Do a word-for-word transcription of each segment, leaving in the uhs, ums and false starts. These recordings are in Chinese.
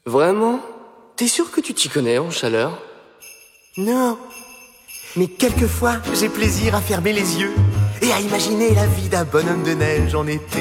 Vraiment? T'es sûr que tu t'y connais en chaleur? Non. Mais quelquefois, j'ai plaisir à fermer les yeux et à imaginer la vie d'un bonhomme de neige en été.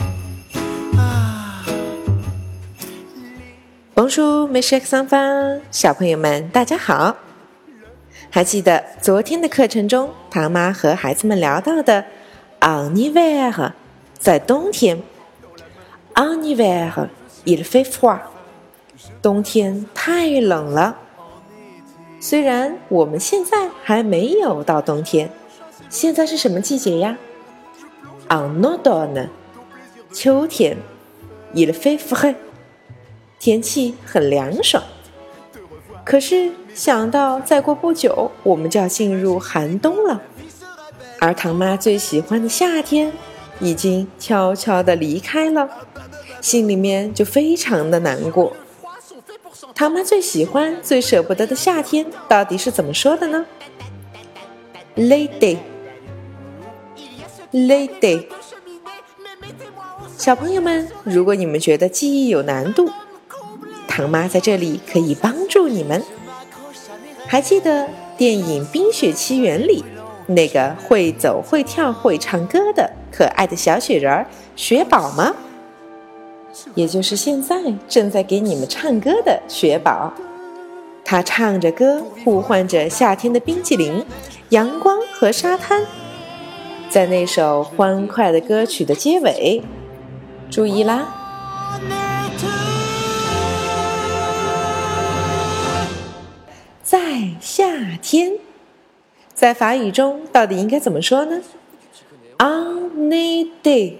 Bonjour, mes chers enfants，小朋友们，大家好。还记得昨天的课程中，唐妈和孩子们聊到的 en hiver， 在冬天 en hiver il fait froid， 冬天太冷了。虽然我们现在还没有到冬天，现在是什么季节呀？ en automne， 秋天 il fait frais， 天气很凉爽。可是想到再过不久我们就要进入寒冬了，而唐妈最喜欢的夏天已经悄悄地离开了，心里面就非常的难过。唐妈最喜欢最舍不得的夏天到底是怎么说的呢？ L'été L'été 小朋友们，如果你们觉得记忆有难度，唐妈在这里可以帮助你们。还记得电影《冰雪奇缘》里那个会走会跳会唱歌的可爱的小雪人雪宝吗？也就是现在正在给你们唱歌的雪宝。他唱着歌，呼唤着夏天的冰淇淋、阳光和沙滩。在那首欢快的歌曲的结尾，注意啦，在夏天，在法语中到底应该怎么说呢？ En été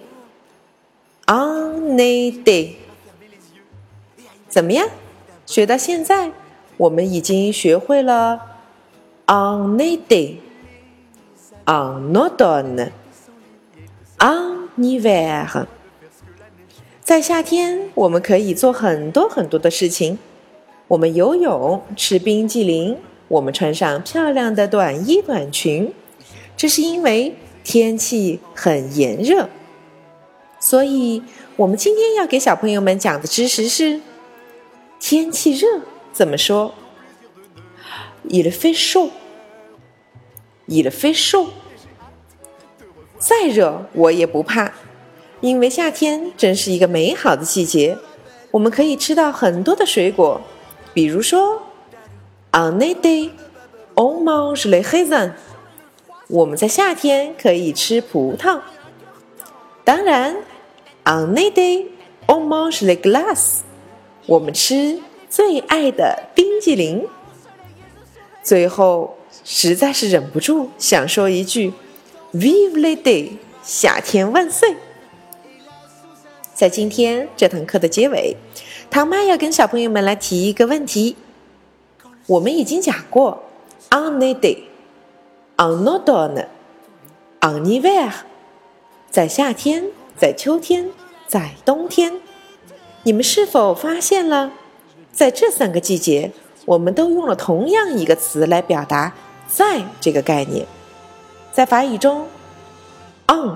En été 怎么样？学到现在，我们已经学会了 En été En automne En hiver 在夏天，我们可以做很多很多的事情。我们游泳，吃冰激凌，我们穿上漂亮的短衣短裙，这是因为天气很炎热。所以我们今天要给小朋友们讲的知识是天气热怎么说？ Il fait chaud Il fait chaud 再热我也不怕，因为夏天真是一个美好的季节，我们可以吃到很多的水果，比如说 En été on mange les raisins 我们在夏天可以吃葡萄。当然 En été on mange les glaces 我们吃最爱的冰激凌。最后实在是忍不住想说一句 Vive l'été 夏天万岁。在今天这堂课的结尾，唐妈要跟小朋友们来提一个问题。我们已经讲过 En été En automne En hiver 在夏天，在秋天，在冬天。你们是否发现了，在这三个季节我们都用了同样一个词来表达在这个概念。在法语中 En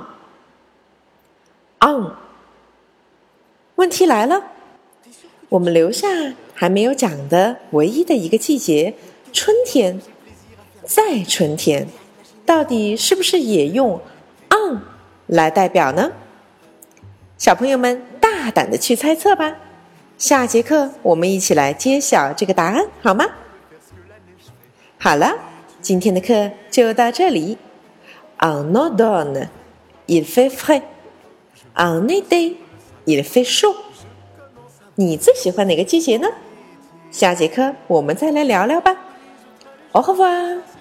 En 问题来了，我们留下还没有讲的唯一的一个季节春天，在春天到底是不是也用 en 来代表呢？小朋友们大胆的去猜测吧，下节课我们一起来揭晓这个答案好吗？好了，今天的课就到这里。 En automne il fait frais En été il fait chaud 你最喜欢哪个季节呢？下节课我们再来聊聊吧。Au revoir